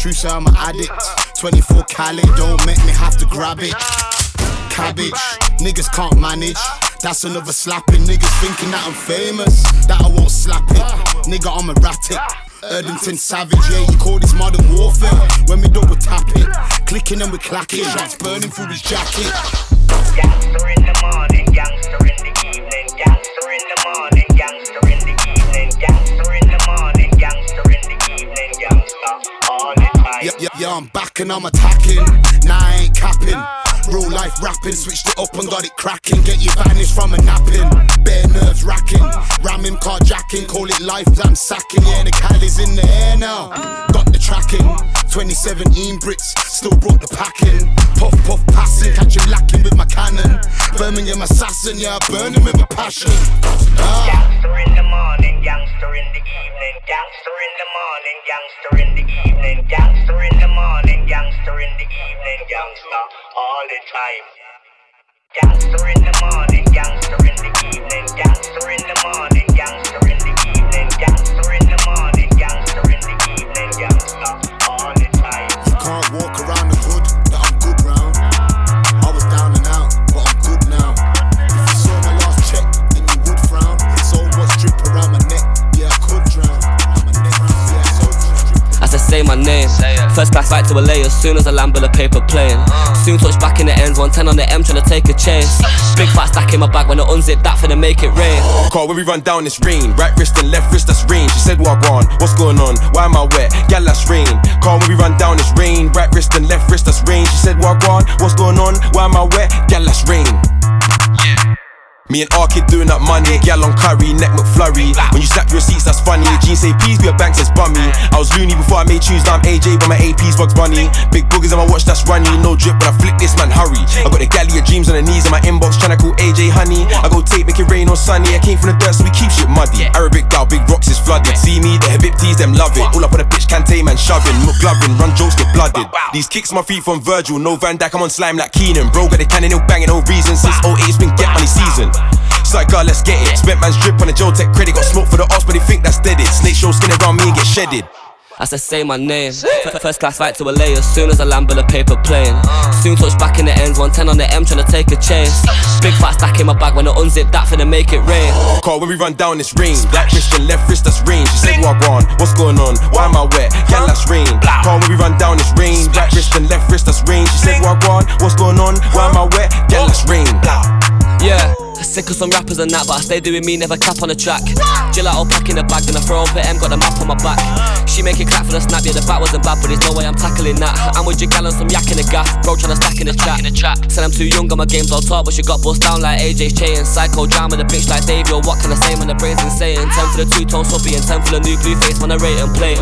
true, so I'm an addict. 24 Cali, don't make me have to grab it. Cabbage, niggas can't manage. That's another slapping. Niggas thinking that I'm famous, that I won't slap it. Nigga, I'm erratic. Erdington Savage, yeah, you call this modern warfare. When we double tap it, clicking and we clacking. Shots burning through his jacket. Gangster in the morning, gangster in the evening. Gangster in the morning, gangster in the evening. Gangster in the morning, gangster in the evening. Gangster all the time. Yeah, I'm back and I'm attacking. Nah, I ain't capping. Real life rapping, switched it up and got it cracking. Get you vanished from a napping. Bare nerves racking. Ramming, carjacking, call it life, I'm sacking. Yeah, the Cali's in the air now. Got the tracking. 2017 Brits, still brought the packing. Puff, puff, passing, catch him lacking with my cannon. Birmingham assassin, yeah, I burn him with a passion. Gangster in the morning, gangster in the evening. Gangster in the morning, gangster in the evening. Gangster in the morning, gangster in the evening. Gangster all the time. Gangster in the morning, gangster in the evening. Gangster in the morning, gangster in the evening. Gangster in the morning, gangster in the evening. Gangster all the time. You can't walk around the hood that I'm good round. I was down and out, but I'm good now. If you saw my last check, then you would frown. So much drip around my neck, yeah, I could drown. As I say my name, first class flight to LA as soon as I land with a paper plane. Soon touch back in the ends, 110 on the M trying to take a chase. Big fat stack in my bag when I unzip that for to make it rain. Call when we run down this rain. Right wrist and left wrist, that's rain. She said wagwan, what's going on? Why am I wet? Gal, that's rain. Call when we run down this rain. Right wrist and left wrist, that's rain. She said wagwan, what's going on? Why am I wet? Gal, that's rain. Me and R-Kid doing up money, gal on curry, neck McFlurry. When you snap your receipts, that's funny. Jeans say please be a bank, says bummy. I was loony before I made tunes, now I'm AJ, but my AP's Bugs Bunny. Big boogers on my watch, that's runny. No drip, but I flick this man, hurry. I got the galley of dreams on the knees in my inbox, tryna call AJ honey. I go tape, make it rain on sunny. I came from the dirt, so we keep shit muddy. Arabic gal, big rocks is flooded. See me, the Habibtis, them love it. All up on the bitch, Kante man shoving, McGlovin, run jokes get blooded. These kicks my feet from Virgil, no Van Dijk, I'm on slime like Keenan. Bro, got the cannon, no banging, no reason. Since 08, it's been get money season. It's like, God, let's get it. Spent man's drip on the Joe Tech credit. Got smoke for the odds, but they think that's dead it. Snake show skin around me and get shedded. As I say my name, first class flight to LA as soon as I land with a paper plane. Soon touch back in the ends, 110 on the M trying to take a chase. Big fat stack in my bag when I unzip that for to make it rain. Call when we run down this rain. Right wrist and left wrist, that's rain. She said wagwan, what's going on? Why am I wet? Gal, that's rain. Call when we run down this rain. Right wrist and left wrist, that's rain. She said wagwan, what's going on? Why am I wet? Gal, that's rain. Yeah, sick of some rappers and that, but I stay doing me, never cap on the track. Gelato pack in the bag, then I throw up at M, got the map on my back. She make it clap for the snap, yeah the bat wasn't bad, but there's no way I'm tackling that. I'm with your gal on some yak in the gaff, bro tryna stack in the chat. Said I'm too young, got my games all top, but she got bust down like AJ's chain. Psycho jam with a bitch like Dave, yo what can I say when the brain's insane? 10 for the two-tone subbie and 10 for the new blue face when I rate and play.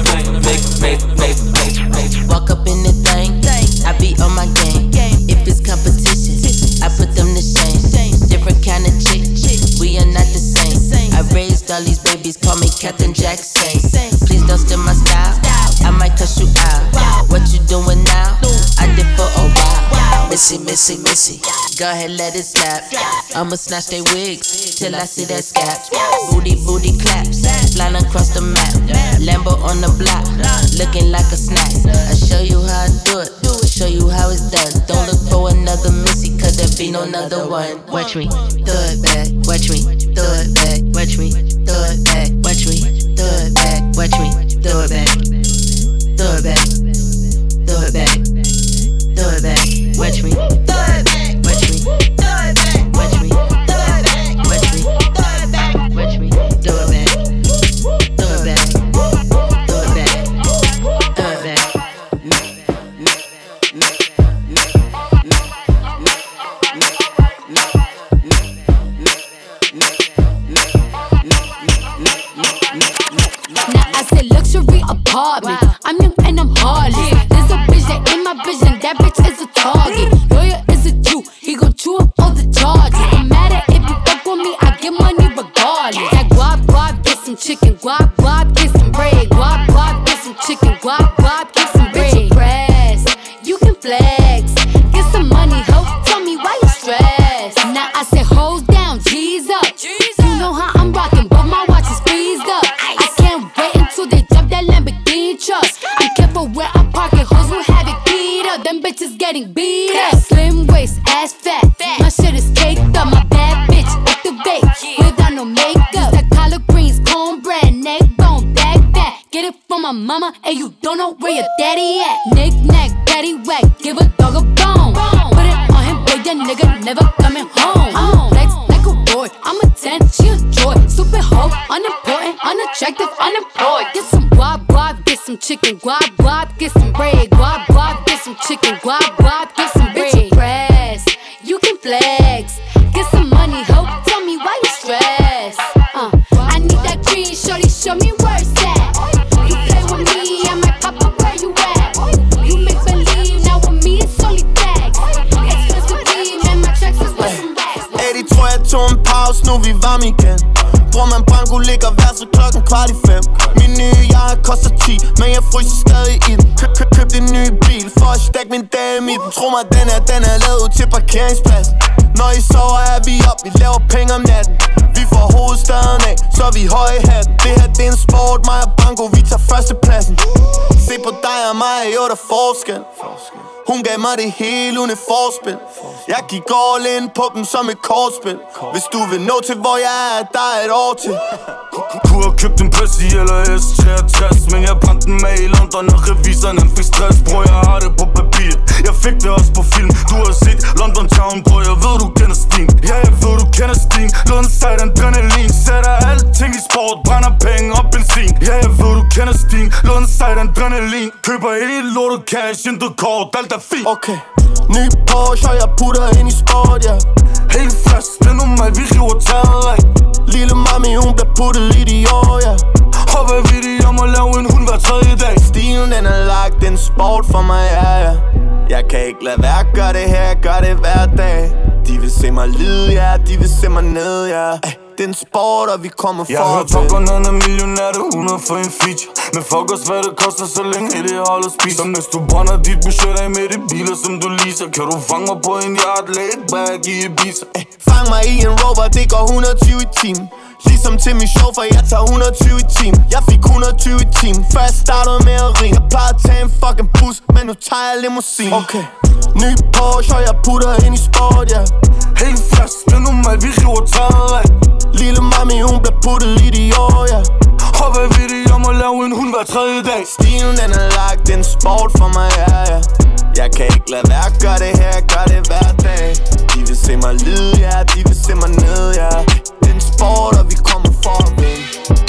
Walk up in the thing, I be on my game. If it's competition, I put them to shame. Different kind of chick, we are not the same. I raised all these babies, call me Captain Jackson. Please don't steal my style, I might cuss you out. What you doing now? I did for a while. Missy, missy, missy, go ahead let it slap. I'ma snatch they wigs till I see that scap. Booty, booty claps, flying across the map. Lambo on the block, looking like a snack. I show you how I do it, show you how it's done. Don't look for another missy, cause there be no another one. Watch me, throw it back, watch me, throw it back, watch me, throw it back, watch me, throw it back, watch me, throw it back, throw it back, throw it back, throw it back, watch me, throw it back, watch me, throw it back, watch me, throw it back, watch me, throw it back, watch me, throw it back, throw it back, throw it back, throw it back. Now I said luxury apartment. I'm young and I'm heartless. There's a bitch that in my vision. That bitch is a target. Lawyer is a Jew. He gon' chew up all the charges. No matter if you fuck with me, I get money regardless. That guap guap, get some chicken. Guap guap, get some bread. Guap guap, get some chicken. Guap guap, get some bread. Bitch, you press, you can flex. Get some money, ho. Tell me why you stressed. Now I said hoes down, G's up. You know how I'm rocking, but my watch is freezed up. I can't wait until they jump that Lamborghini truck. I'm careful where mama and you don't know where your daddy at. Knick-knack, daddy whack, give a dog a bone. Put it on him, boy, that nigga never coming home. I'm flex like a boy, I'm a 10, she a joy. Stupid hoe, unimportant, unattractive, unemployed. Get some guap, guap, get some chicken. Guap, guap, get some bread. Guap, guap, get some chicken. Guap, guap, get some bread. Bitch, press, you can flex. Get some money, hoe, tell me why you stress. I need that green, shorty, show me where it's at. You play with me, I might pop up where you at. You make believe, now with me it's only facts. Expensive weed, man, my tracks is with some racks. 80 tror jeg tog en pause, nu vi varme igen. Bror man Branko ligger værset 4:15. Min nye jakke koster 10, men jeg fryser stadig i den. Købte en ny bil for at stack min dame i den. Tro mig, den er lavet ud til parkeringspladsen. Når I sover er vi op, vi laver penge om natten. Vi får hovedstaden af, så vi høje i hatten. Det her det er en sport, mig og Branko, vi tager førstepladsen. Se på dig og mig, jo der forskel. Hun gav mig det hele uden et forspil. Jeg gik all in på dem som et kortspil. Hvis du vil nå til hvor jeg er, der er et år til. Kunne have købt en Pussy eller S63, men jeg brændte den med i London, og reviseren fik stress. Bror, jeg har det på papir, jeg fik det også på film. Du har set London Town, bror, jeg ved du kender Steen. Ja, jeg ved du kender Steen. Låden sejt adrenalin, sætter alting i sport, brænder penge og benzin. Ja, jeg ved du kender Steen. Låden sejt adrenalin, køber helt lortet cash, intet kort, alt er fint. Okay, ny Porsche, og jeg putter ind i sport, ja. Helt fast, det er normalt, vi river taget af. Lille mami, hun bliver puttet lidt i år, ja. Og hvad ved de om at lave en hund hver tredje dag? Stilen den er lagt, den sport for mig, ja, ja. Jeg kan ikke lade være, gør det her, gør det hver dag. De vil se mig lide, ja, de vil se mig ned, ja. Det er en sport, og vi kommer for. Jeg har hørt Top Gun, han er millionær, det 100 for en feature. Men fuck os, hvad det koster, så længe det holder spiser. Hvis du brænder dit budget af med de biler, som du leaser, kan du fange mig på en yacht, laid back i Ibiza. Fang mig i en Rover, det går 120 i timen. Ligesom til min show, for jeg tager 120 i timen. Jeg fik 120 i timen, før jeg startede med at ringe. Jeg plejede at tage en fucking bus, men nu tager jeg limousine. Okay, ny Porsche, og jeg putter ind i sport, ja. Helt fast, det er normalt, vi river taget af. Lille mami, hun bliver puttet lidt i år, ja. Og hvad ved de om at lave en hund hver tredje dag? Stilen den er lagt, det er en sport for mig, ja, ja. Jeg kan ikke lade være, gør det her, gør det hver dag. De vil se mig lide, ja, de vil se mig ned, ja. Det er en sport, og vi kommer for at vinde.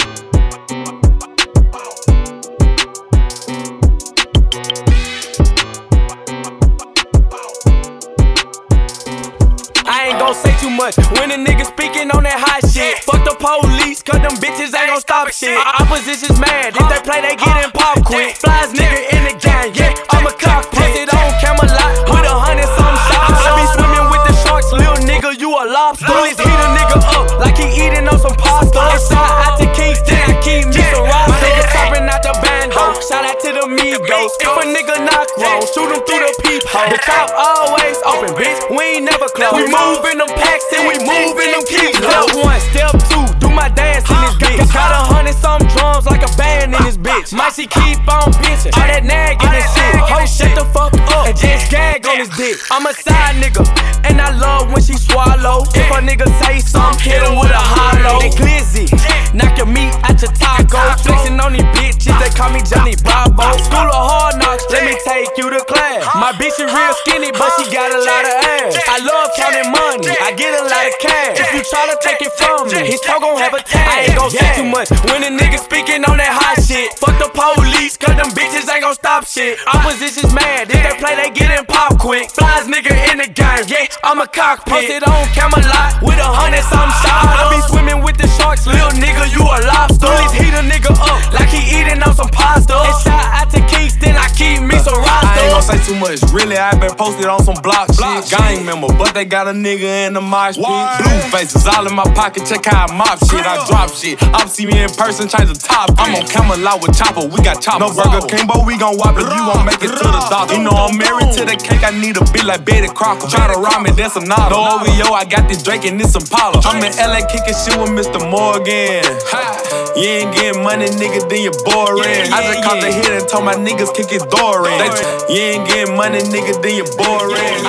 I ain't gon' say too much when a nigga speaking on that hot shit. Fuck the police, cause them bitches ain't gon' stop shit. Opposition's mad, if they play, they gettin' pop quick. Flies nigga in the gang, yeah, I'm a cockpit. Posted on Camelot with 100-some shots. I be swimming with the sharks, little nigga, you a lobster. Police heat a nigga up like he eating on some pasta. Inside out to Kingston, I keep me some rocks. My nigga topping out the bando, shout out to the Migos. If a nigga knock wrong, shoot him through the peephole. The top always open, bitch, we ain't never close. We move in them packs and we move in them keys. Step 1, step 2, do my dance in this bitch. Got 100-some drums like a band in this bitch. Might she keep on bitching, all that nagging and shit. Ho, shut the fuck up and just gag on his dick. I'm a side nigga, and I love when she swallow. If a nigga say something, hit him with a hollow. They glizzy, knock your meat out your taco. Flexing on these bitches, they call me Johnny Bravo. School of hard knocks, let me take you to class. My bitch is real skinny, but she got a lot of ass. I love counting money, I get a lot of cash. If you try to take it from me, his toe gon' have a tag. I ain't gon' say too much when a nigga speaking on that hot shit. Fuck the police, cause them bitches ain't gon' stop shit. Opposition's mad, if they play, they gettin' pop quick. Flies nigga in the game, yeah, I'm a cockpit. Posted on Camelot with 100-some shots. I be swimming with the sharks, little nigga, you a lobster. Police heat a nigga up like he eating on some pasta. And shout out to Kingston, I keep me some roster. I ain't gon' say too much, really, I been posted on some block shit. Gang member, but they got a nigga in the mosh pit. Blue faces all in my pocket, check how I mop shit. I drop shit, up see me in person, change the top. I'm on Camelot with Chopper, we got choppers. No Burger King, but we gon' whop if you won't make it to the doctor. You know I'm married to the cake, I need a bitch like Betty Crocker. Try to rob me, that's a nod. No OVO, I got this Drake and this Impala. I'm in LA kicking shit with Mr. Morgan. You ain't getting money, nigga, then you boring. I just caught the hit and told my niggas kick his door in. You ain't getting money, nigga, then you boring.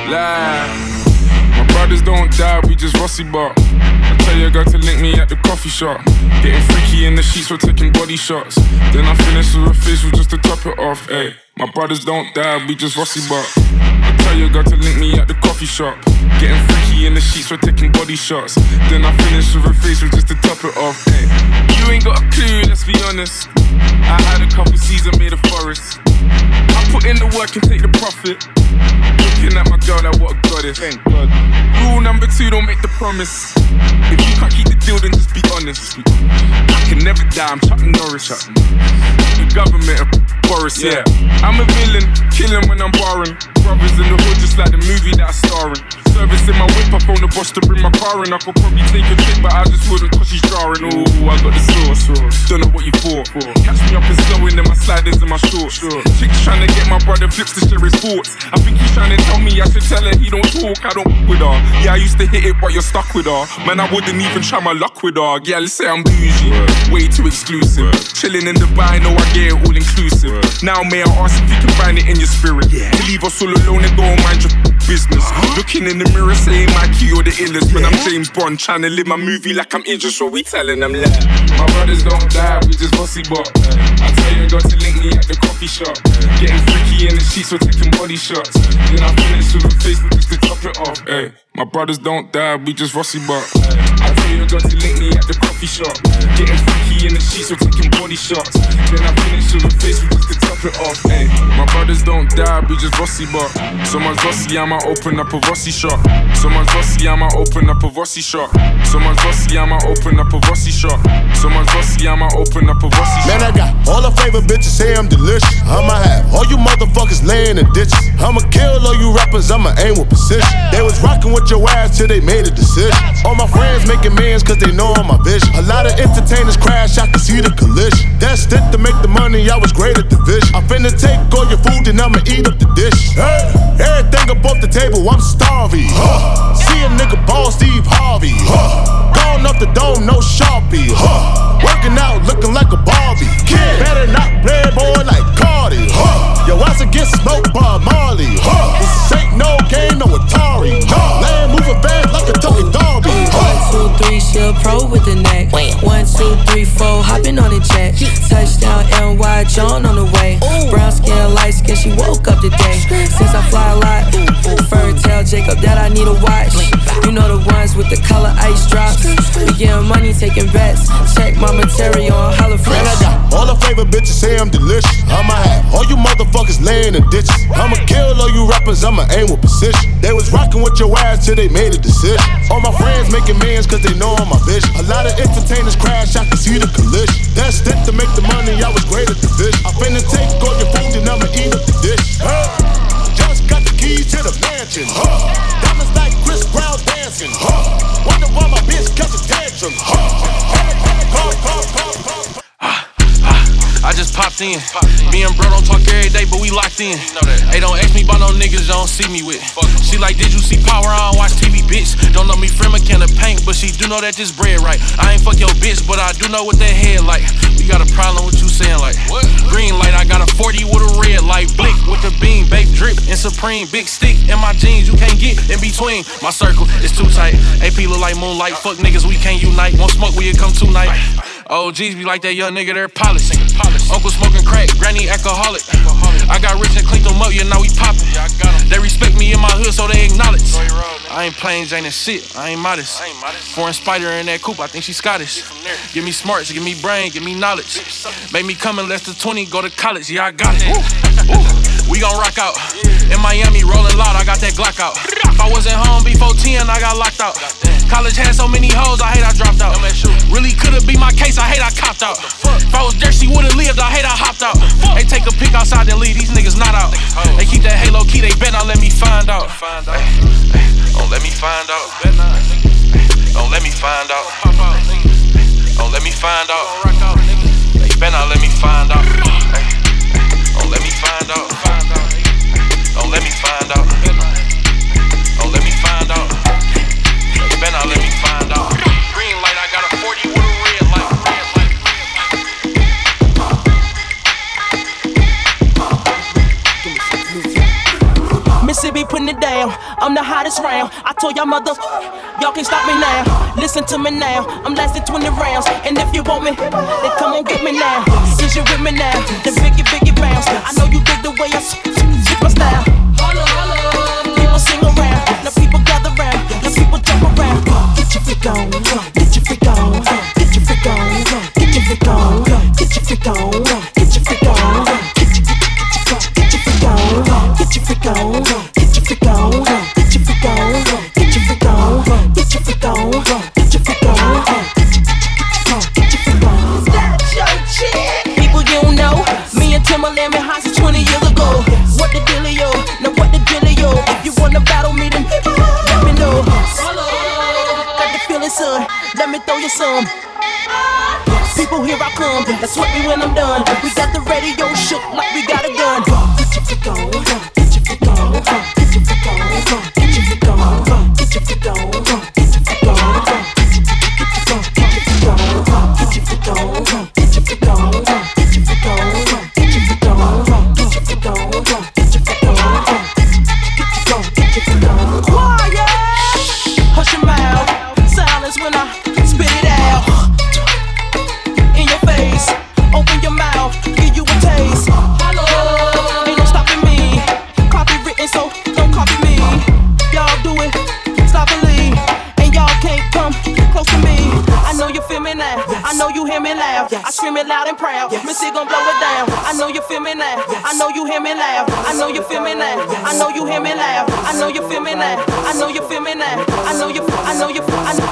Lie. My brothers don't die, we just Rossi bar. I tell your girl to link me at the coffee shop. Getting freaky in the sheets, we're taking body shots. Then I finish with a facial just to top it off. Ay, my brothers don't die, we just Rossi bar. I tell your girl to link me at the coffee shop. Getting freaky in the sheets, we're taking body shots. Then I finish with a facial just to top it off. Ay, you ain't got a clue, let's be honest. I had a couple seasons, made a forest. I put in the work and take the profit. Looking at my girl, like what a goddess. Thank God. Rule number 2, don't make the promise. If you can't keep the deal, then just be honest. I can never die, I'm Chuck Norris. The government of Boris, yeah. I'm a villain, killing when I'm barring. Brothers in the hood, just like the movie that I star in. Service in my whip, I phone the boss to bring my car in. I could probably take a trip, but I just wouldn't cause she's jarring. Ooh, I got the sauce. Don't know what you thought. Catch me up and slowing in my sliders and my shorts. Chick's trying to get my brother flips to share his thoughts. I think he's trying to tell me I should tell her he don't talk, I don't with her. Yeah, I used to hit it, but you're stuck with her. Man, I wouldn't even try my luck with her. Yeah, let's say I'm bougie, way too exclusive. Chilling in Dubai, know I get it all inclusive. Now may I ask if you can find it in your spirit? To leave us all alone and go and mind your business. Looking in the mirror saying Mikey, you're the illest. When I'm James Bond trying to live my movie like I'm injured, so we telling them lies. My brothers don't die, we just bossy bot. I tell you got to link me at the coffee shop. Getting freaky in the sheets, we're taking body shots. Then I finish with a Facebook just to top it off. Ay, my brothers don't die, we just Rossi bot. I tell you got to link me at the coffee shop. Getting freaky in the sheets, we're taking body shots. Then I finish with a Facebook just to top it off. Ay, my brothers don't die, we just Rossi bot. Someone's Rossi, I might open up a Rossi shop. Someone's Rossi, I might open up a Rossi shop. Someone's Rossi, I might open up a Rossi shop. Someone's Rossi, I might open up a Rossi shop. Man, I got all the favorite bitches, say I'm delicious. I'ma have all you motherfuckers laying in ditches. I'ma kill all you rappers, I'ma aim with precision. They was rocking with your ass till they made a decision. All my friends making millions cause they know I'm my vision. A lot of entertainers crash, I can see the collision. That's it to make the money, I was great at the vision. I'm finna take all your food and I'ma eat up the dish. Hey, everything up off the table, I'm starving. See a nigga ball Steve Harvey. Gone off the dome, no Sharpie. Working out, looking like a Barbie. Kid, better not play boy like Cardi. Yo, ass against smoke by Marley. This ain't no game, no Atari. Land moving fast like a Tony Darby. 1, 2, 3, she a pro with the neck. 1, 2, 3, 4, hopping on the jet. Touchdown, NY, John on the way. Brown skin, light skin, she woke up today. Since I fly a lot, fur tell Jacob that I need a watch. You know the ones with the color ice drops. We getting money, taking bets. Check my material on Hella Fresh. Man, I got all the favorite bitches, say I'm delicious. I'ma have all you motherfuckers laying in ditches. I'ma kill all you rappers, I'ma aim with precision. They was rocking with your ass till they made a decision. All my friends making millions cause they know I'm my vision. A lot of entertainers crash, I can see the collision. That's it to make the money, I was great at the vision. I'm finna take all your food and I'ma eat up the dish. Just got the keys to the mansion. Diamonds like Chris Brown dancing. Wonder why my bitch got the tantrum. I just popped in. Me and bro don't talk every day, but we locked in. Hey, don't ask me about no niggas you don't see me with. She like, did you see Power? I don't watch TV, bitch. Don't know me from a can of paint, but she do know that this bread right. I ain't fuck your bitch, but I do know what that head like. We got a problem with you saying like, what? Green light, I got a 40 with a red light. Blick with the beam, baked drip, and Supreme. Big stick in my jeans, you can't get in between. My circle is too tight. AP look like moonlight. Fuck niggas, we can't unite. Won't smoke, we come tonight. OGs be like that young nigga, they're polished. Uncle smoking crack, granny alcoholic. I got rich and cleaned them up, yeah, now we poppin'. They respect me in my hood, so they acknowledge. I ain't plain Jane and shit, I ain't modest. Foreign spider in that coupe, I think she Scottish. Give me smarts, give me brain, give me knowledge. Make me come in less than 20, go to college, yeah, I got it. We gon' rock out. In Miami, rolling loud, I got that Glock out. If I wasn't home before 10, I got locked out. College had so many hoes, I hate I dropped out. Really could've been my case, I hate I copped out. If I was there, she would've lived, I hate I hopped out. They take a pic outside, then leave, these niggas not out. They keep that halo key, they bet not let me find out. Don't let me find out. Don't let me find out. Don't let me find out. They bet not let me find out. Don't let me find out. Don't let me find out. Don't let me find out. They bet not let me find out. Green light, I got a 40 with a red light. pussy be putting it down. I'm the hottest round. I told y'all y'all can't stop me now. Listen to me now. I'm lasting 20 rounds. And if you want me, then come on get me now. Since you with me now, then biggie bounce. I know you dig the way I switch my style. People sing around, now people gather round, now people jump around. Get your freak on, get your freak on, get your freak on, get your freak on, get your freak on, get your freak on, get your freak on, get your freak on, get your freak on, get your freak on, get your freak on, get your freak on, get your freak on, get your freak on. That's your chick. People you don't know, me and Timberland been hot since 20 years ago. What the dealio? Now what the dealio? If you wanna battle me, then let me know. Got the feeling, son. Let me throw you some. People, here I come. That's what me when I'm done. We got the radio shook like we got a gun. Get your freak on, get your freak on, get your freak on, get your freak on, get your freak on, get your freak on, get your freak on, get your freak on, get your freak on, get your freak on, get your freak on, get your freak on, get your freak on, get your freak on, get your freak on. Quiet, hush your mouth. Silence when I spit it out. In your face, open your mouth, give you a taste. Ain't no stopping me. Copywritten, so don't copy me. Y'all do it sloppily, and y'all can't come close to me. I know you feel me now. I know you hear me loud. I scream it loud and proud. Missy gon' blow it down. I know you feel me now. I know you hear me loud. I know you feel me now. I know you hear me loud. I know you feel me now. I know you feel me now. I know you. I know you.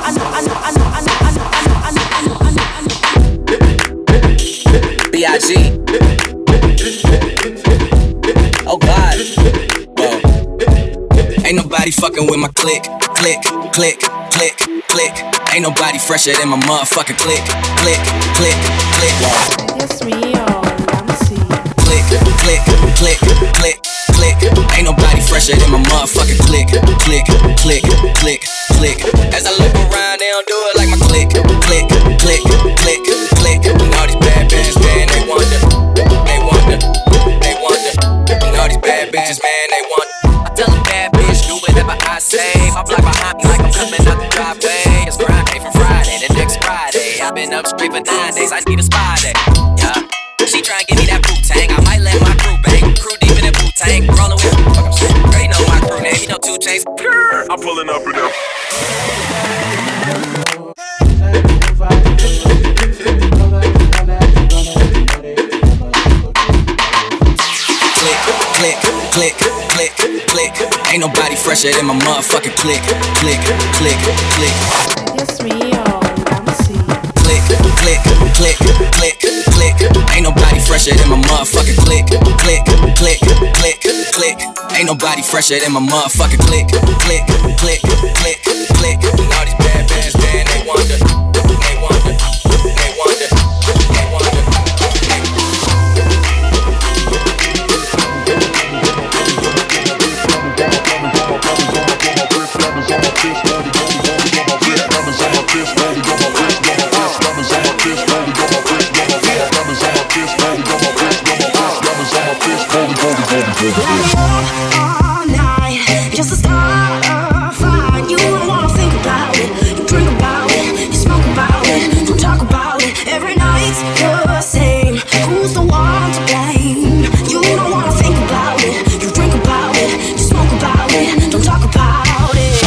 B.I.G. Oh God. Whoa. Ain't nobody fucking with my click, click, click, click, click. Ain't nobody fresher than my motherfucking click, click, click, click. It's real, let me see. Click, click, click, click, click. Ain't nobody fresher than my motherfucking click, click, click, click, click. As I look around, they don't do it like my click, click, click, click, click. And all these bad bitches, man, they wonder, they wonder, they wonder. And all these bad bitches, man, they wonder. I tell a bad bitch, do whatever I say. My block behind me like I'm coming out the driveway. It's grind day from Friday to next Friday. I've been up straight for 9 days, I need a spy day. Yeah. She tryna give me that Wu-Tang, I might let my crew bang. Crew deep in that Wu-Tang, rollin' with fuck I'm shit. They know my crew name, you know 2 Chainz. I'm pulling up with them. Click, click, click, click. Ain't nobody fresher than my motherfucking click, click, click, click. It's real, let me see. Click, click, click, click, click. Ain't nobody fresher than my motherfucking click, click, click, click, click. Ain't nobody fresher than my motherfucking click, click, click, click, click. And all these bad bitches, man, they wonder, they wonder, they wonder, they wonder. All night, just to start a fight. You don't wanna think about it. You drink about it, you smoke about it, you talk about it. Every night's the same. Who's the one to blame? You don't wanna think about it. You drink about it, you smoke about it, don't talk about it.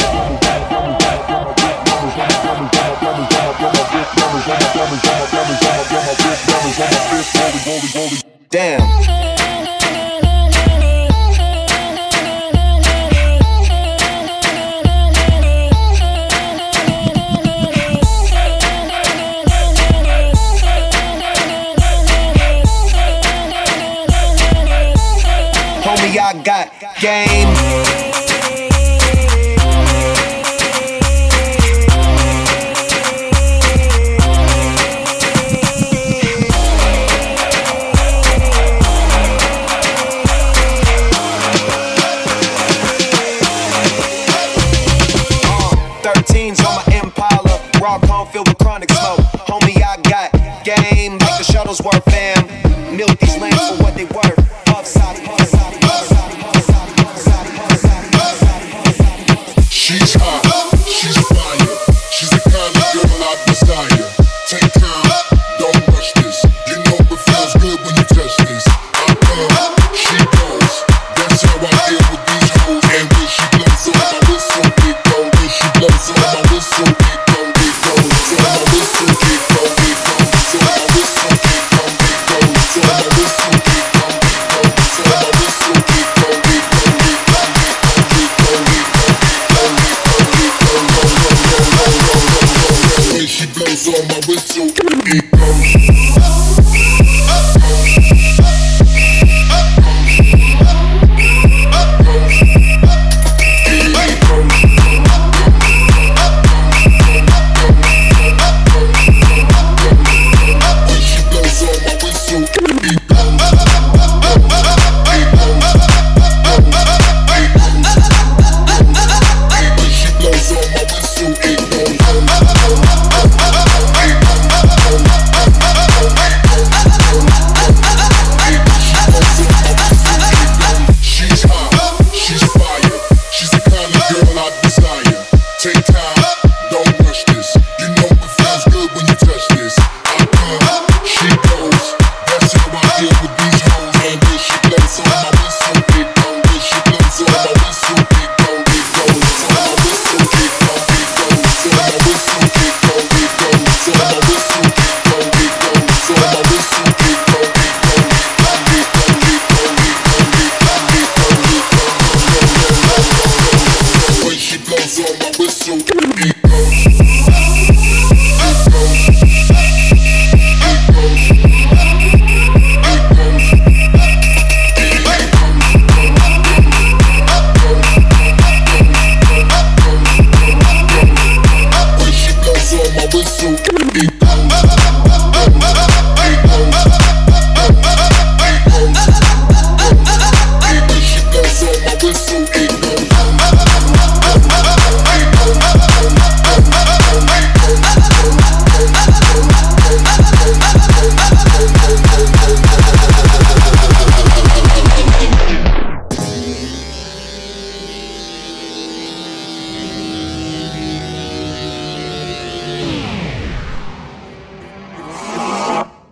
Damn. Homie, I got game. Shuttlesworth fam, milk these lamps for what they worth. Upside, upside, upside, upside, upside.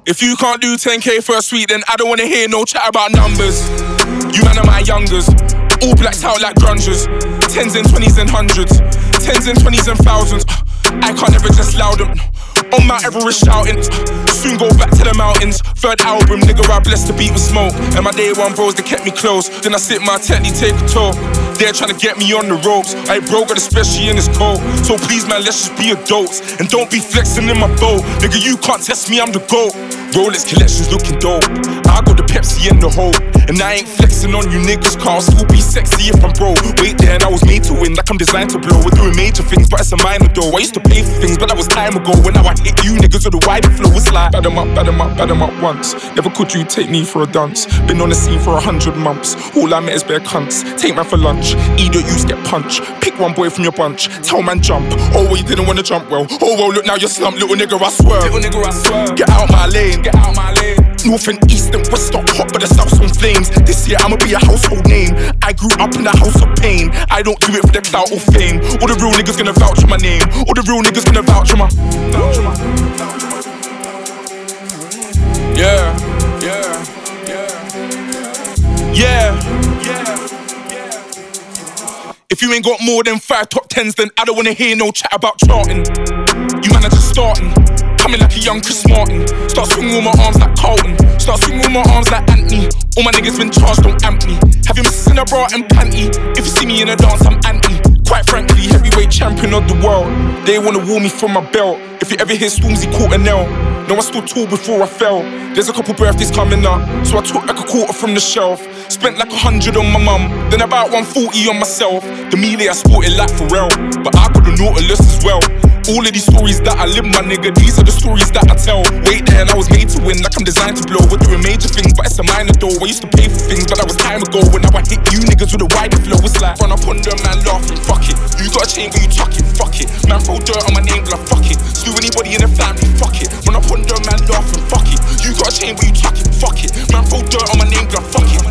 If you can't do 10k for a suite, then I don't wanna hear no chat about numbers. You man are my youngers, all blacked out like grungers. 10s and 20s and 100s, 10s and 20s and thousands. I can't ever just loud them. On Mount Everest shouting, soon go back to the mountains. Third album, nigga, I blessed the beat with smoke. And my day one bros, they kept me close. Then I sit my tent, they take a tour. They're trying to get me on the ropes. I broke it, especially in this cold. So please, man, let's just be adults. And don't be flexing in my boat. Nigga, you can't test me, I'm the GOAT. Rolex collections looking dope. I got the Pepsi in the hole. And I ain't flexing on you niggas, car still be sexy if I'm broke. Wait there, and I was made to win, like I'm designed to blow. We're doing major things, but it's a minor though. I used to pay for things, but that was time ago. When now I hit you niggas with a wider flow, it's like bad 'em up once. Never could you take me for a dance. Been on the scene for 100 months. All I met is bare cunts. Take man for lunch, either use get punched. Pick one boy from your bunch, tell man jump. Oh well, you didn't wanna jump well. Oh well, look now you're slumped, little nigga, I swear. Little nigga, I swear. Get out my lane, get out my lane. North and east and west stop hot, but the south's on flames. This year I'ma be a household name. I grew up in a house of pain. I don't do it for the clout or fame. All the real niggas gonna vouch for my name. All the real niggas gonna vouch for my. Yeah. If you ain't got more than 5 top 10s, then I don't wanna hear no chat about charting. You man are just starting. Coming like a young Chris Martin. Start swinging with my arms like Carlton. Start swinging with my arms like Anthony. All my niggas been charged, don't amp me. Have you missing a bra and panty? If you see me in a dance, I'm anti. Quite frankly, heavyweight champion of the world. They wanna woo me from my belt. If you ever hear Stormzy caught a nail. No, I stood tall before I fell. There's a couple birthdays coming up, so I took like a quarter from the shelf. Spent like 100 on my mum, then about 140 on myself. The melee I sported like Pharrell, but I got the Nautilus as well. All of these stories that I live, my nigga, these are the stories that I tell. Wait there, and I was made to win, like I'm designed to blow. We're doing major things, but it's a minor though. I used to pay for things, but that was time ago. When now I hit you niggas with a wider flow, it's like run up on them, man, laughing, fuck it. You got a chain, but you tuck it, fuck it. Man, throw dirt on my name, but I fuck it. Slew anybody in the family, fuck it. Run up on them, man, laughing, fuck it. You got a chain, but you tuck it, fuck it. Man, throw dirt on my name, but I fuck it.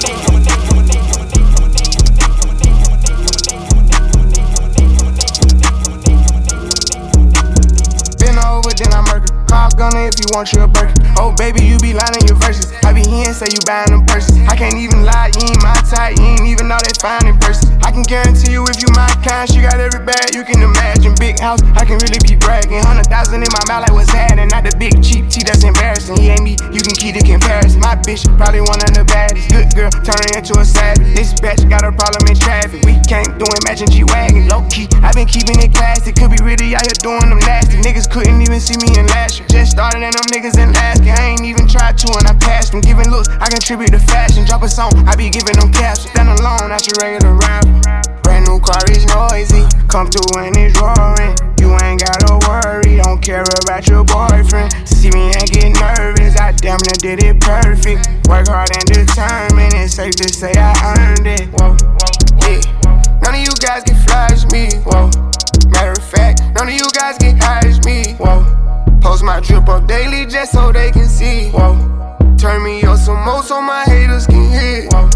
Then I murder. Call gunner if you want you a Birkin. Oh baby, you be lying in your verses. I be hearing say you buying them purses. I can't even lie, you ain't my type. You ain't even know they fine in person. I can guarantee you if you my kind, she got every bag you can imagine. Big house, I can really be bragging. 100,000 in my mouth like what's happening. Not the big cheap tea that's embarrassing. He ain't me, you can keep the comparison. My bitch probably one of the baddest. Good girl, turning into a savage. This bitch got a problem in traffic. We can't do it, matching G-Wagon. Low key, I been keeping it classy. Could be really out here doing them nasty. Niggas couldn't even see me in last year. Just started and them niggas in last year. I ain't even tried to and I passed them. Giving looks, I contribute to fashion. Drop a song, I be giving them caps. Stand alone, not your regular rapper. Brand new car is noisy. Come through and it's roaring. You ain't gotta worry, don't care about your boyfriend. See me and get nervous, I damn near did it perfect. Work hard and determined, it's safe to say I earned it. Whoa, yeah. None of you guys can flash me. Whoa. Matter of fact, none of you guys get high as me. Whoa. Post my drip up daily just so they can see. Whoa. Turn me up some more so my haters can hear. Whoa.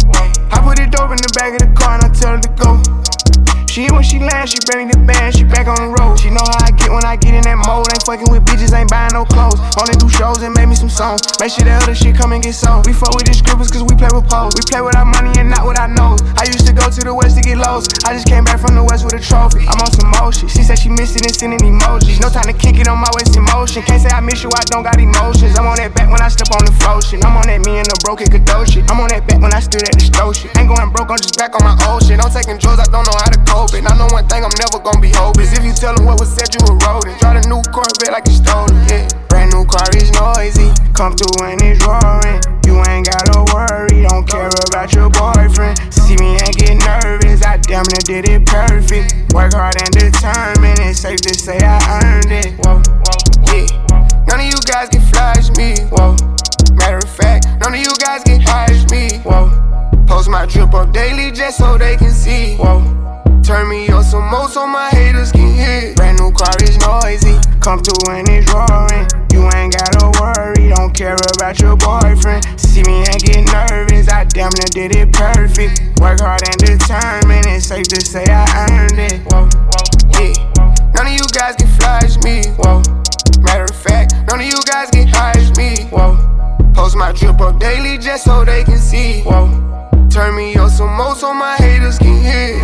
I put it dope in the back of the car and I tell her to go. She when she lands, she bring the band, she back on the road. She know how I get when I get in that mode. Ain't fucking with bitches, ain't buying no clothes. Only do shows and make me some songs. Make sure that other shit come and get sold. We fuck with the scribbles cause we play with poles. We play with our money and not with our nose. I used to go to the west to get lows. I just came back from the west with a trophy. I'm on some motion. She said she missed it and sending emojis. No time to kick it on my waist in motion. Can't say I miss you, I don't got emotions. I'm on that back when I step on the flow shit. I'm on that me and the broke it could do shit. I'm on that back when I stood at the stove shit. Ain't going broke, I'm just back on my old shit. I'm taking drugs, I don't know how to cope it. I know one thing, I'm never gonna be hopeless. If you tell them what was said, you a rodent. Drive a new Corvette like it's stolen, yeah. Brand new car is noisy. Come through and it's roaring. You ain't gotta worry, don't care about your boyfriend. See me and get nervous, I damn near did it perfect. Work hard and determined, it's safe to say I earned it. Whoa, yeah. None of you guys can flash me. Whoa. Matter of fact, none of you guys can hide me. Whoa. Post my drip up daily just so they can see. Whoa. Turn me up some more so my haters can hear. Brand new car is noisy. Come through and it's roaring. You ain't gotta worry, don't care about your boyfriend. See me and get nervous, I damn near did it perfect. Work hard and determined, it's safe to say I earned it. Whoa, yeah. None of you guys can flash me. Whoa. Matter of fact, none of you guys can hide see. Whoa. Post my drip up daily just so they can see. Whoa. Turn me up some more so my haters can hear.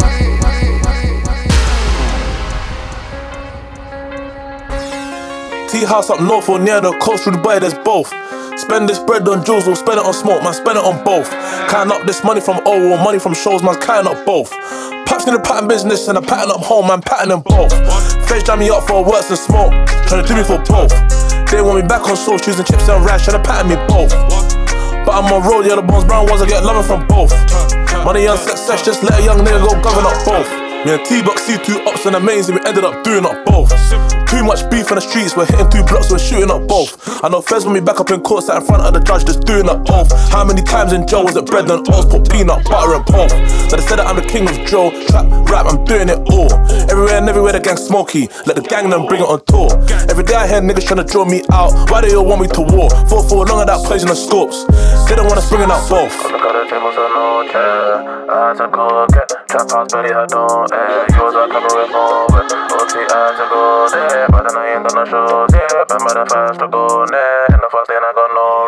Tea house up north or near the coast, through the boy, there's both. Spend this bread on jewels or spend it on smoke, man, spend it on both. Counting up this money from O or money from shows, man, counting up both. Paps in the pattern business and a pattern up home, man, pattern them both. Face jam me up for works and smoke, trying to do me for both. They want me back on soul, choosing chips and rice, trying to pattern me both. But I'm on road, yeah, the bones brown ones, I get loving from both. Money and success, just let a young nigga go govern up both. Me and T-Buck see 2 ups and amazing, we ended up doing up both. Too much beef in the streets, we're hitting 2 blocks, we're shooting up both. I know feds want me back up in court, sat in front of the judge, just doing up both. How many times in jail was it bread and oats, put peanut butter and both? So they said that I'm the king of drill, trap, rap, I'm doing it all. Everywhere and everywhere the gang smoky, let the gang them bring it on tour. Every day I hear niggas trying to draw me out, why they all want me to war? 4-4 long of that poison and scopes, they don't want us bringing up both. I had to go get trap house, belly I don't yours I cover with more with OT I had to go there, but then I ain't done no shows, yeah. But the first to go there, and the first thing I got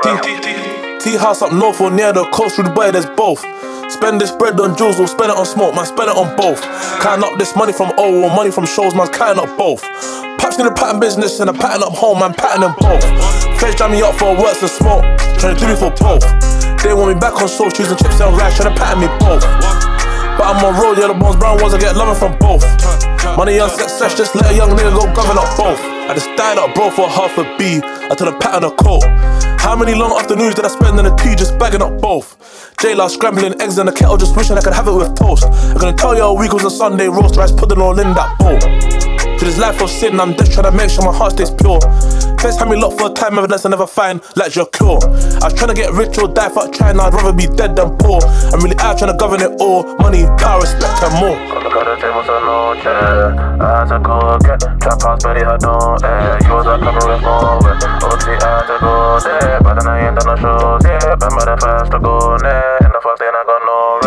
no Tea house up north or near the coast, through the boy, there's both. Spend this bread on jewels or spend it on smoke, man, spend it on both. Counting up this money from O or money from shows, man, counting up both. Paps in the pattern business and a pattern up home, man, pattern them both. Face jam me up for works and smoke, trying to do me for both. They want me back on soul, choosing chips and rice, trying to pattern me both. But I'm on road, yeah, the bones brown ones, I get loving from both. Money and success, just let a young nigga go govern up both. I just died up, bro, for half a B, until the pattern of coat. How many long afternoons did I spend in the tea just bagging up both? J-Law scrambling eggs in the kettle, just wishing I could have it with toast. I'm gonna tell you a week was a Sunday roast, rice pudding all in that bowl. To this life of sin, I'm just trying to make sure my heart stays pure. First had me locked for a time, evidence I never find, like your cure. I was trying to get rich or die, fuck trying, I'd rather be dead than poor. I'm really out trying to govern it all, money, power, respect and more. Got the table so no chair, I had to go get trap house, belly I don't yours I cover with more with OT I had to go there, but then I ain't done no shows, yeah. But the first to go there, and the first thing I got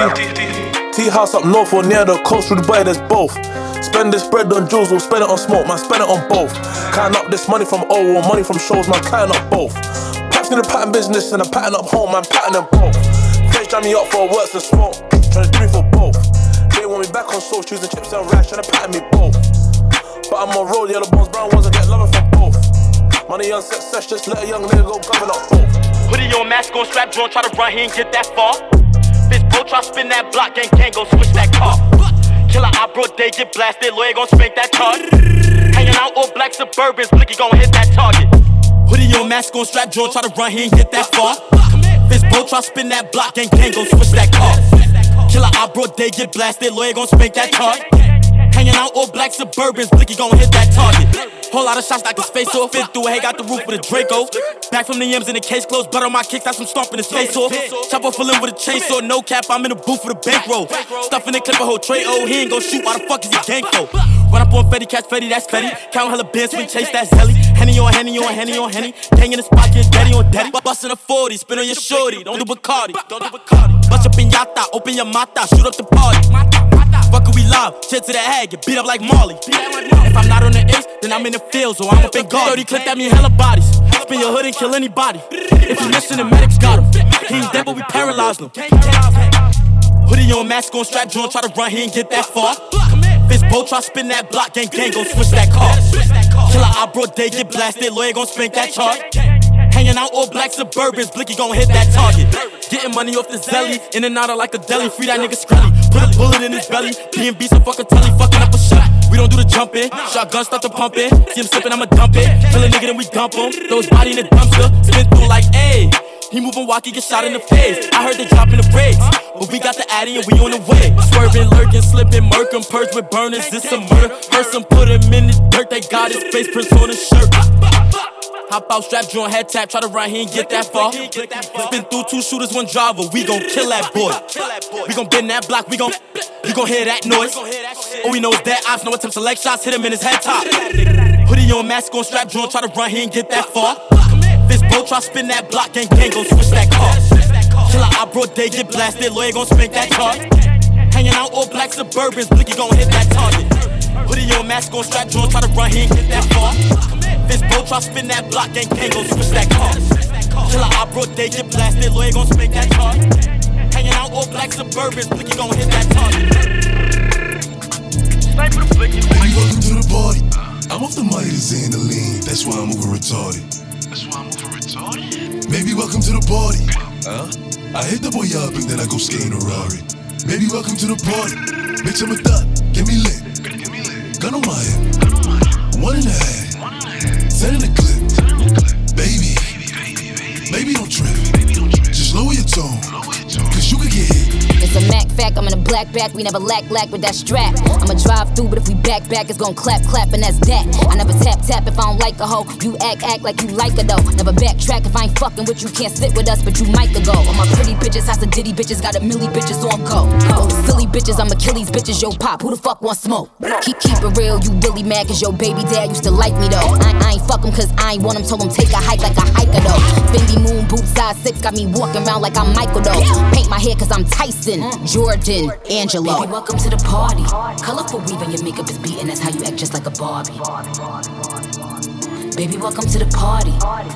no Tea house up north or near the coast, through the boy, there's both. Spend this bread on jewels or spend it on smoke, man, spend it on both. Counting up this money from O or money from shows, man, counting up both. Paps in the pattern business and a pattern up home, man, pattern them both. Face jam me up for works and smoke, trying to do me for both. They want me back on soul, choosing chips and rice, trying to pattern me both. But I'm on road, yeah, the bones brown ones, I get loving from both. Money and success, just let a young nigga go govern up both. Put in your mask on, strap joint, try to run, he ain't get that far. Bitch, bro, try spin that block, gang, go switch that car. Killer op, bro, they get blasted, lawyer gon' spank that card. Hanging out all black Suburbans, Blicky gon' hit that target. Put in your mask on, strap joint, try to run, he ain't get that far. Bitch, bro, try spin that block, gang, gon' switch that car. Killer op, bro, they get blasted, lawyer gon' spank that card. Hanging out all black Suburbans, Blicky gon' hit that target. Whole lot of shots knock his face off. Fit through a hay, got the roof with a Draco. Back from the M's in the case closed. Blood on my kicks, that's from stomping his face off. Chopper full in with a chainsaw. No cap, I'm in the booth with a bankroll. Stuffing the clip a whole tray. Oh, he ain't gon' shoot. Why the fuck is he ganko? Run up on Fetty, catch Fetty, that's Fetty. Count hella bands, swing, chase that Zelly. Henny on Henny on Henny on Henny. Gang in the spot, get daddy on daddy. Bustin' a 40, spin on your shorty. Don't do Bacardi. Bust your piñata, open your mata, shoot up the party. Fuck it, we live, shit to the head, get beat up like Marley. If I'm not on the ace, then I'm in the field, so I'm up in guard. 30 clip, that mean hella bodies. Spin your hood and kill anybody. If you listen, the medics got him. He ain't dead, but we paralyzed him. Hoodie on, mask on, strap joint, try to run, he ain't get that far. Bitch, bro, try spin that block, gang, gon' switch that car. Killer op, bro, they get blasted, lawyer gon' spank that chart. Hanging out all black Suburbans, Blicky gon' hit that target. Getting money off the zelly, in and out of like a deli. Free that nigga Skrelly, put a bullet in his belly. B&B some fucking telly, fucking up a shot. We don't do the jumping, shotgun start to pump it. See him slipping, I'ma dump it. Kill a nigga, then we dump him. Throw his body in the dumpster, spin through like, ayy. He moving walkie, get shot in the face. I heard they dropping the brakes, but we got the Addy and we on the way. Swerving, lurking, slipping, murking, purge with burners. This a murder. Person put him in the dirt. They got his face prints on his shirt. Hop out, strap joint, head tap, try to run, he ain't get that far. Spin through 2 shooters, 1 driver, we gon' kill that boy. We gon' bend that block, you gon' hear that noise. All we know is that ops, no attempt to leg shots, hit him in his head top. Hoodie on, mask on, strap joint, try to run, he ain't get that far. This bro try spin that block, gang, gon' switch that car. Killer op, bro, they get blasted, lawyer gon' spank that car. Hanging out all black Suburbans, Blicky gon' hit that target. Hoodie on, mask on, strap joint, try to run, he ain't get that far. This bro try spin that block, gang, gon' switch that car. day get blasted, lawyer gon' spank that charge. Hanging out all black Suburbans, Blicky gon' hit that target. Sniper the Blicky. Baby, welcome to the party. I'm off the money to Xan the lean, that's why I'm moving retarded. Baby, welcome to the party. I hit the boy up and then I go skating a Rari. Baby, welcome to the party. Bitch, I'm a thot, get me lit. Gun on my hip, 1.5, 10 in the clip. Baby, don't trip. Just lower your tone, cause you could get hit. It's a Mac fact, I'm in a black back, we never lack with that strap. I'ma drive through, but if we back, it's gon' clap, and that's that. I never tap if I don't like a hoe. You act like you like her though. Never backtrack if I ain't fucking with you, can't sit with us, but you might go. All my pretty bitches, house of Diddy bitches, got a milli bitches on go. Silly bitches, I'm Achilles bitches, yo pop, who the fuck want smoke? Keep it real, you really mad cause your baby dad used to like me though. I ain't fuck him cause I ain't want him, told him take a hike like a hiker though. Fendi Moon boots size 6, got me walking around like I'm Michael though. Paint my hair cause I'm Tyson, Jordan, Angelo. Baby, welcome to the party. Colorful weave and your makeup is beating, that's how you act just like a Barbie. Baby, welcome to the party.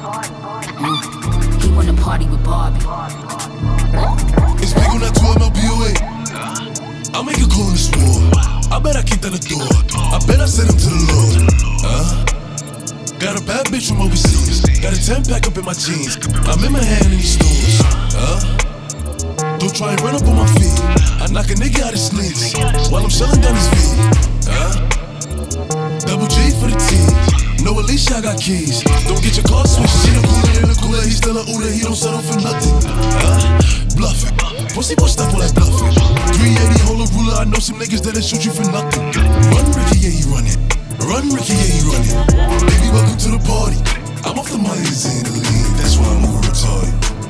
He wanna party with Barbie. It's big on that 12 MLBOA. I'll make a call in this war. I bet I kick down the door. I bet I send him to the Lord. Got a bad bitch from overseas. Got a 10-pack up in my jeans. I'm in my hand in these stores. Don't try and run up on my feet. I knock a nigga out his sleeves while I'm shelling down his feet. Double G for the team. No, Alicia, I got keys. Don't get your car switched. She the cooler, he's still a Uber. He don't settle for nothing. Bluffing. Pussy boy stuff all that bluffing. 380, hold a ruler. I know some niggas that'll shoot you for nothing. Run, Ricky, yeah, he run it. Run, Ricky, yeah, he run it. Baby, welcome to the party. I'm off the money to Xan the lean. That's why I'm moving retarded.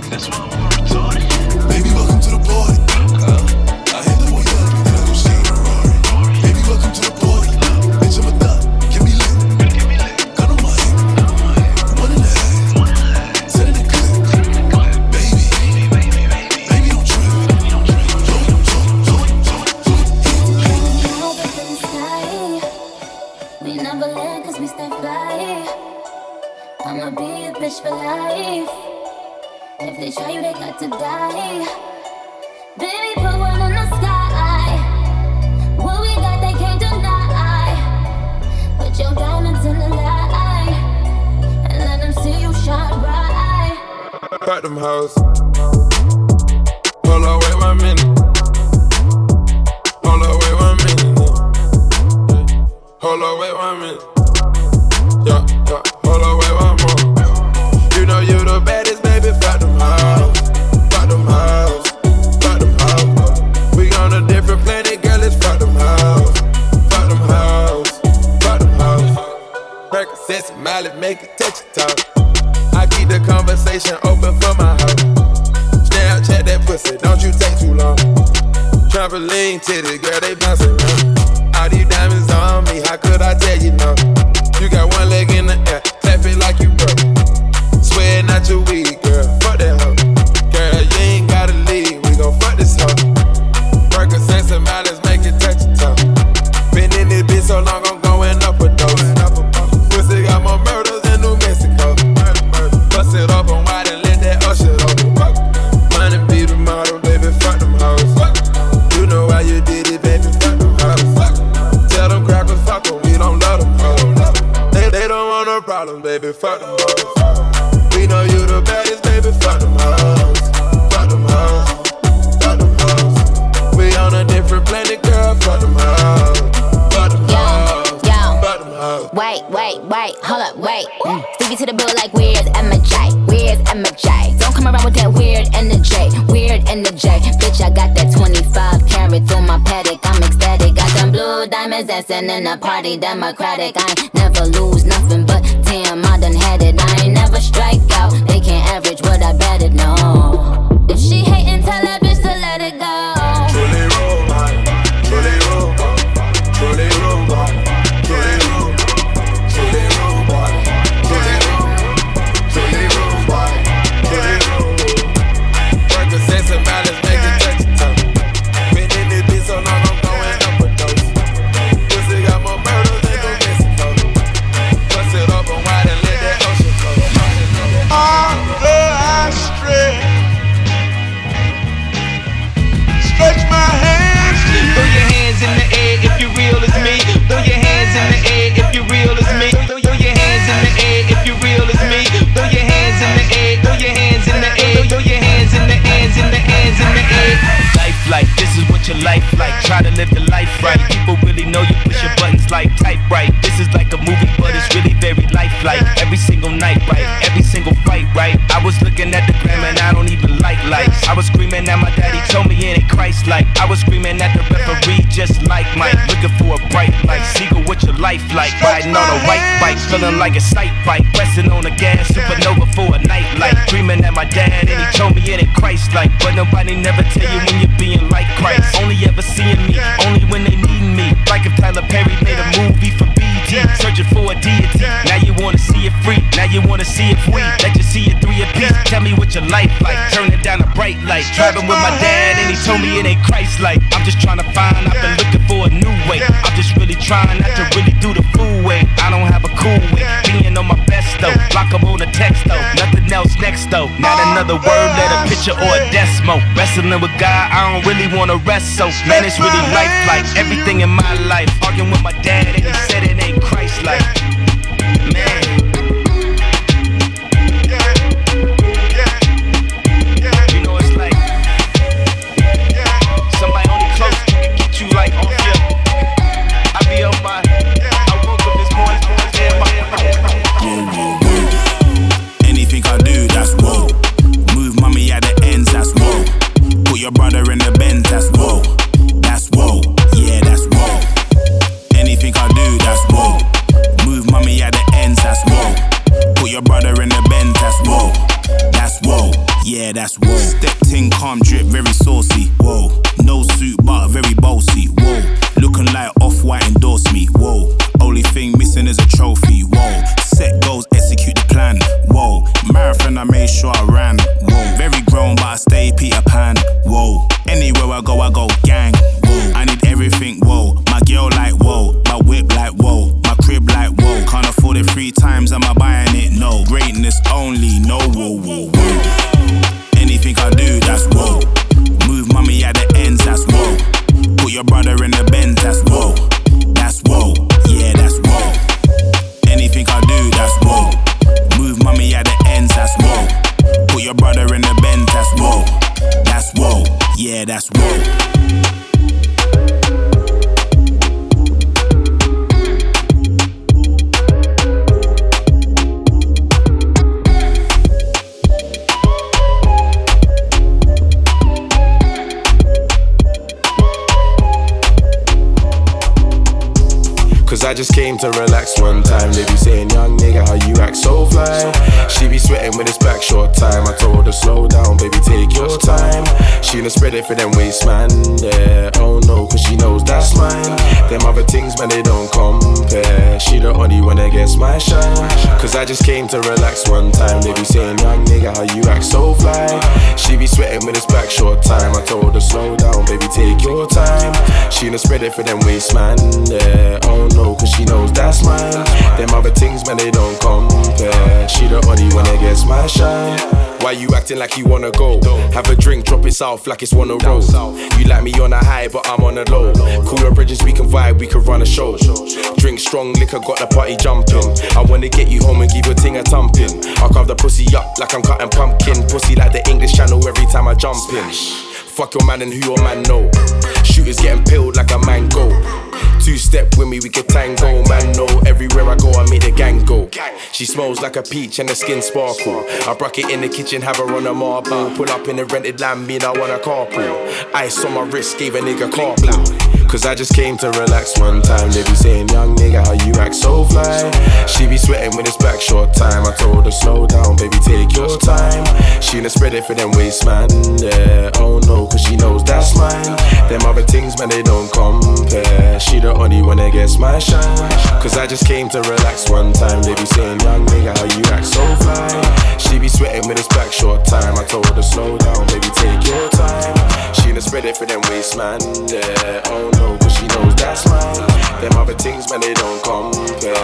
Baby, welcome to the party. I hit the boy up and then I go skating a Rari. Baby, welcome to the party. Bitch, I'm a thot, get me lit. Gun on my hip, 1.5, 10 in the clip. Baby, don't trip. We never let cause we stay fly. I'ma be a bitch for life. If they try you, they got to die. Baby, put one in the sky. What we got, they can't deny. Put your diamonds in the light and let them see you shine bright. Pack them hoes. Hold on, wait 1 minute. Hold on, wait 1 minute. Hold on, wait 1 minute. Yeah. Hold on, wait 1 more. You know you the baddest, baby. Fuck them hoes. Fuck them hoes. Fuck them hoes. We on a different planet, girl. Let's fuck them hoes. Fuck them hoes. Fuck them hoes. Percocets and Miley, make it touch your toe. I keep the conversation open for my hoe. Snapchat that pussy, don't you take too long. Trampoline titties, girl, they bouncing around. All these diamonds on me, how could I tell you no? You got one leg in the air, clap it like you broke. Swear not your weed, girl, fuck that hoe. Girl, you ain't gotta leave, we gon' fuck this hoe. Percocets and Miley's make it touch your toe. Been in this bitch so long, I'm going up a dose. Pussy got more murders in New Mexico. Bust it open wide and let that ocean open. Money be the model, baby, fuck them hoes. You know how you did it, baby, fuck them hoes. Tell them crackers, fuck them, we don't love them hoes. They don't want no problems, baby, fuck them hoes. We know you the baddest, baby, fuck them hoes. Fuck them hoes. Fuck them hoes. We on a different planet, girl, fuck them hoes. Fuck them hoes. Fuck them hoes. Wait, hold up, wait. Stevie to the bill like where's MJ? Where's MJ? Don't come around with that weird energy. Bitch, I got that 25 carats on my paddock. I'm ecstatic. Got them blue diamonds dancing in the party. Democratic. I ain't never lose nothing, but damn, I done had it. I ain't never strike out. They can't average what I betted, no. If she hatin', tell that bitch to let it go. Truly robot, truly robot, truly robot, truly robot, truly robot, truly robot, truly robot, truly robot. Percocets and Miley's make it touch your toe. Been in this bitch so long, I'm going up a dose. Pussy got more murders than New Mexico. Bust it open wide and let that ocean flow. All the what your life like. Try to live the life right. People really know you push your buttons like type right. This is like a movie, but it's really very lifelike. Every single night, right? Every single fight, right? I was looking at the gram and I don't even like lights. I was screaming at my daddy, told me it ain't Christ-like. I was screaming at the referee, just like Mike. Looking for a bright light. Seagull, what your life like? Riding on a white bike, feeling like a sight bike. Pressing on the gas, supernova for a night light. Dreaming at my dad and he told me it ain't Christ-like. But nobody never tell you when you're being like Christ. Only ever seeing me, only when they need me. Like if Tyler Perry made a movie for BT, searching for a deity. Now you wanna see it free, now you wanna see it free. Let you see it 3 apiece. Tell me what your life like. Turning down a bright light. Driving with my dad and he told me it ain't Christ-like. I'm just trying to find, I've been looking for a new way. I'm just really trying not to really do the fool way. I don't have a cool way, being on my best though. Block 'em on a text though, nothing else next though. Not another word, let a picture or a decimal. Wrestling with God, I don't really wanna rest so. Man, it's really life-like, everything in my life. Arguing with my dad and he said it ain't Christ-like. Man. You know it's like somebody only close to can get you like off your. I be on my. I woke up this morning, anything I do, that's whoa. Move mommy at the ends, that's whoa. Put your brother in the Benz, that's whoa. That's whoa, yeah, that's whoa. Anything I do, that's whoa. Move mommy at the ends, that's whoa. Put your brother in the Benz, that's whoa. That's whoa, yeah, that's whoa. Stepped in, calm, drip, very saucy, whoa. No suit, but very bossy, whoa. Looking like Off-White endorse me, whoa. Only thing missing is a trophy, whoa. Set goals, execute the plan, whoa. Marathon, I made sure I ran, whoa. Very grown, but I stay Peter Pan, whoa. Anywhere I go gang, whoa. I need everything, whoa. My girl like, whoa. My whip like, whoa. My crib like, whoa. Can't afford it 3 times, am I buying it? No. Greatness only, no, whoa, whoa, whoa. Anything I do, that's whoa. Move mommy at the ends, that's whoa. Put your brother in the Benz, that's whoa. That's whoa, yeah, that's whoa. Anything I do, that's whoa. Move mommy at the ends, that's whoa. Put your brother in the Benz, that's whoa. That's whoa, yeah, that's whoa. Cause I just came to relax one time. They be saying, young nigga, how you act so fly. She be sweating when it's back short time. I told her, slow down, baby, take your time. She done spread it for them waist, man, yeah. Oh no, cause she knows that's mine. Them other things, man, they don't compare. She the only one that gets my shine. Cause I just came to relax one time. They be saying, young nigga, how you act so fly. She be sweating when it's back short time. I told her, slow down, baby, take your time. She done spread it for them waist, man, yeah. Oh no, cause she knows that's mine. Them other things, man, they don't compare. She the only one that gets my shine. Why you acting like you wanna go? Have a drink, drop it south like it's one a roll. You like me on a high, but I'm on a low. Cooler bridges, we can vibe, we can run a show. Drink strong liquor, got the party jumping. I wanna get you home and give your ting a thumping. I'll carve the pussy up like I'm cutting pumpkin. Pussy like the English Channel every time I jump in. Fuck your man and who your man know. Shooters getting peeled like a mango. 2-step with me, we can tango. Man, no, everywhere I go, I make the gang go. She smells like a peach and the skin sparkle. I broke it in the kitchen, have her on a marble. Pull up in the rented land, mean I want a carpool. Ice on my wrist, gave a nigga carpool. Cause I just came to relax one time. They be saying, young nigga, how you act so fly. She be sweating when it's back short time. I told her, slow down, baby, take your time. She done spread it for them waist, man, yeah. Oh no, cause she knows that's mine. Them other things, man, they don't compare. She the only one that gets my shine. Cause I just came to relax one time. They be saying, young nigga, how you act so fly. She be sweating when it's back short time. I told her, slow down, baby, take your time. She done spread it for them waist, man, yeah. Oh no, cause she knows that's mine. Them other things, man, they don't compare.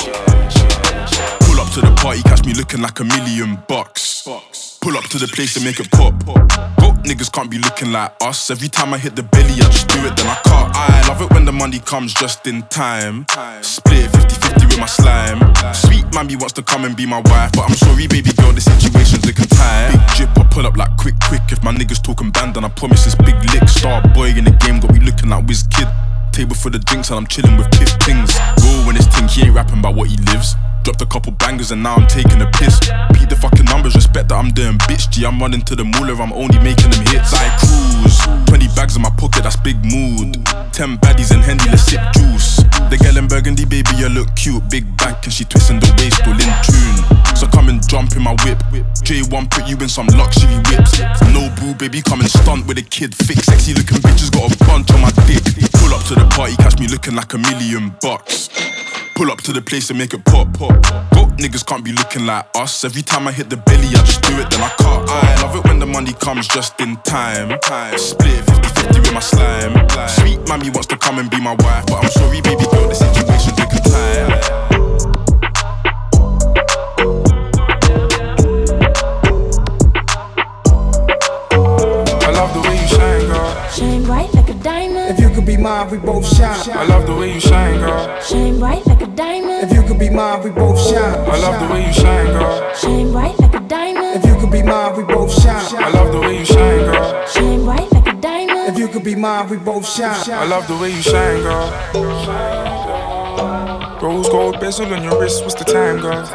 Pull up to the party, catch me looking like $1 million. Pull up to the place and make it pop. Broke niggas can't be looking like us. Every time I hit the belly, I just do it, then I cut. I love it when the money comes just in time. Split 50-50 with my slime. Sweet mammy wants to come and be my wife, but I'm sorry, baby girl, the situation's looking tight. Big drip, I pull up like quick. If my niggas talking band, then I promise it's big licks. Star boy in the game, got me looking like Wiz Kid. Table for the drinks and I'm chilling with Pip Things. Roll when it's ting, he ain't rapping about what he lives. Dropped a couple bangers and now I'm taking a piss. Beat the fucking numbers, respect that I'm doing bitch G. I'm running to the moolah, I'm only making them hits. I cruise, 20 bags in my pocket, that's big mood. 10 baddies and Hendy, let's sip juice. The girl in Burgundy, baby, you look cute. Big back and she twisting the waist, all in tune. So come and jump in my whip. J1 put you in some luxury whips. No boo, baby, come and stunt with a kid. Thick, sexy looking bitches, got a bunch on my dick. Pull up to the party, catch me looking like $1,000,000. Pull up to the place and make it pop. Goat niggas can't be looking like us. Every time I hit the belly, I just do it, then I cut. I love it when the money comes just in time. Split 50-50 with my slime. Sweet mommy wants to come and be my wife, but I'm sorry, baby girl, the situation's looking tight. I love the way you shine, girl. Shine bright like a diamond. If you could be mine, we both shine. I love the way you shine, girl. Shine bright like a diamond. If you could be mine, we both shine. I love the way you shine, girl. Shine bright like a diamond. If you could be mine, we both shine. I love the way you shine, girl. Shine bright like a diamond. If you could be mine, we both shine. I love the way you shine, girl. Rose gold bezel on your wrist, what's the time, girl?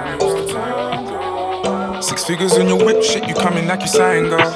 6 figures in your whip, shit, you coming like you sign, girl.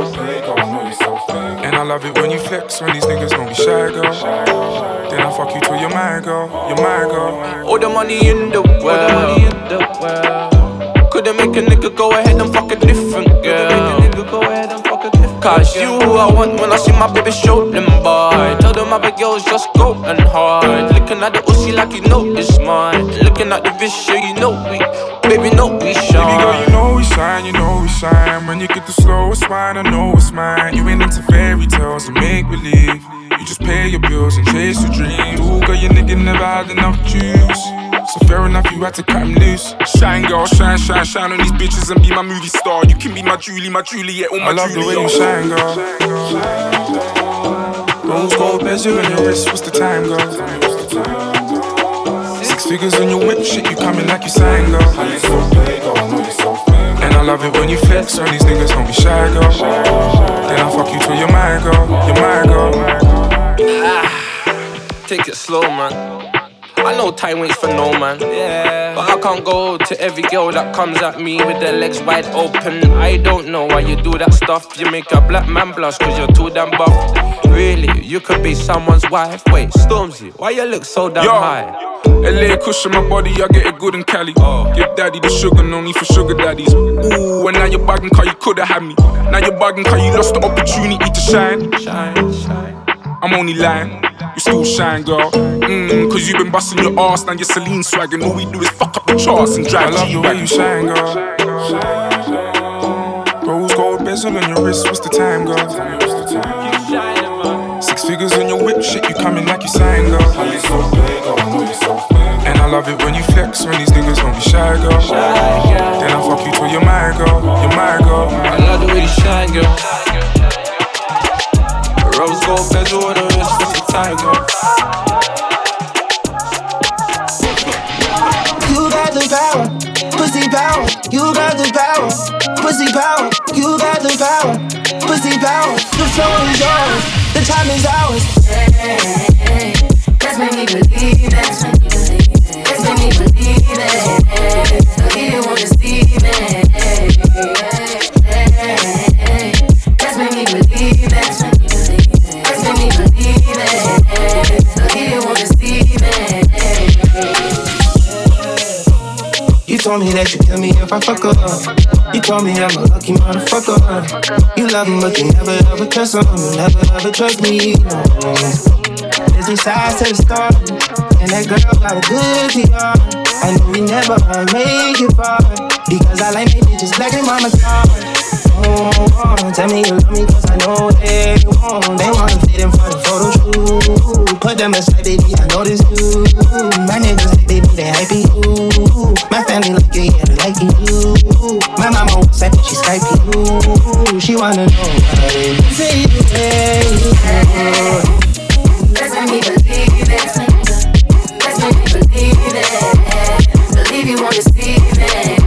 And I love it when you flex, when these niggas don't be shy, girl. Then I fuck you till you're my girl, you're my girl. All the money in the world, couldn't make a nigga go ahead and fuck a different girl. Cause you I want when I see my baby show them boy. Tell them other girls just go and hard. Looking at the Uzi like you know it's mine. Looking at the bitch, yeah, you know we, baby, know we shine. Baby girl, you know we shine, you know we shine. When you get the slowest wine, I know it's mine. You ain't into fairy tales and make believe. You just pay your bills and chase your dreams. Ooh, girl, your nigga never had enough juice. So fair enough, you had to cut him loose. Shine, girl, shine, shine, shine on these bitches and be my movie star. You can be my Julie, my Juliet, all my Julie. I love the way you shine, girl. Rose gold bezel on your wrist, what's the time, girl? 6 figures on your whip, shit, you coming like you sang, girl. And I love it when you flex, on these niggas don't be shy, girl. Then I fuck you till you're my girl, you're my girl. Take it slow, man. I know time waits for no man, yeah. But I can't go to every girl that comes at me with their legs wide open. I don't know why you do that stuff. You make a black man blush cause you're too damn buff. Really, you could be someone's wife. Wait, Stormzy, why you look so damn high? LA cushion my body, I get it good in Cali. Give daddy the sugar, no need for sugar daddies. Ooh, and now you're bugging cause you coulda had me. Now you're bugging cause you lost the opportunity to shine. Shine, shine. I'm only lying, you still shine, girl. Cause you been busting your ass, now you're Celine swag. And all we do is fuck up the charts and drive. I love the way you shine, girl. Rose gold bezel on your wrist, what's the time, girl? 6 figures on your whip, shit, you coming like you sign, girl. And I love it when you flex, when these niggas don't be shy, girl. Then I fuck you till you're my girl, you're my girl. I love the way you shine, girl. Rose gold bezel on the wrist, what's the time, girl? You got the power, pussy power. You got the power, pussy power. You got the power, pussy power. The floor is yours, the time is ours. Hey, let's make me believe it. Let's make me believe it. So you wanna see me. Let's make me believe it. Let's make me believe it. So you wanna see me. You told me that you kill me if I fuck up. You told me I'm a lucky motherfucker. You love him but you never ever trust him. You never ever trust me. No. There's two sides to the story, and that girl got a good PR. I know we never make it far, because I like my bitches black and mama car. Oh, tell me you love me cause I know they won't. They wanna fit in for the photo shoot. Put them aside, baby, I know this too. My niggas like baby, they hype you. My family like you, yeah, they like you. My mama wants that, she Skype you. She wanna know what it is. Say you let's make me believe it. Let's make me believe it. Believe you wanna see me.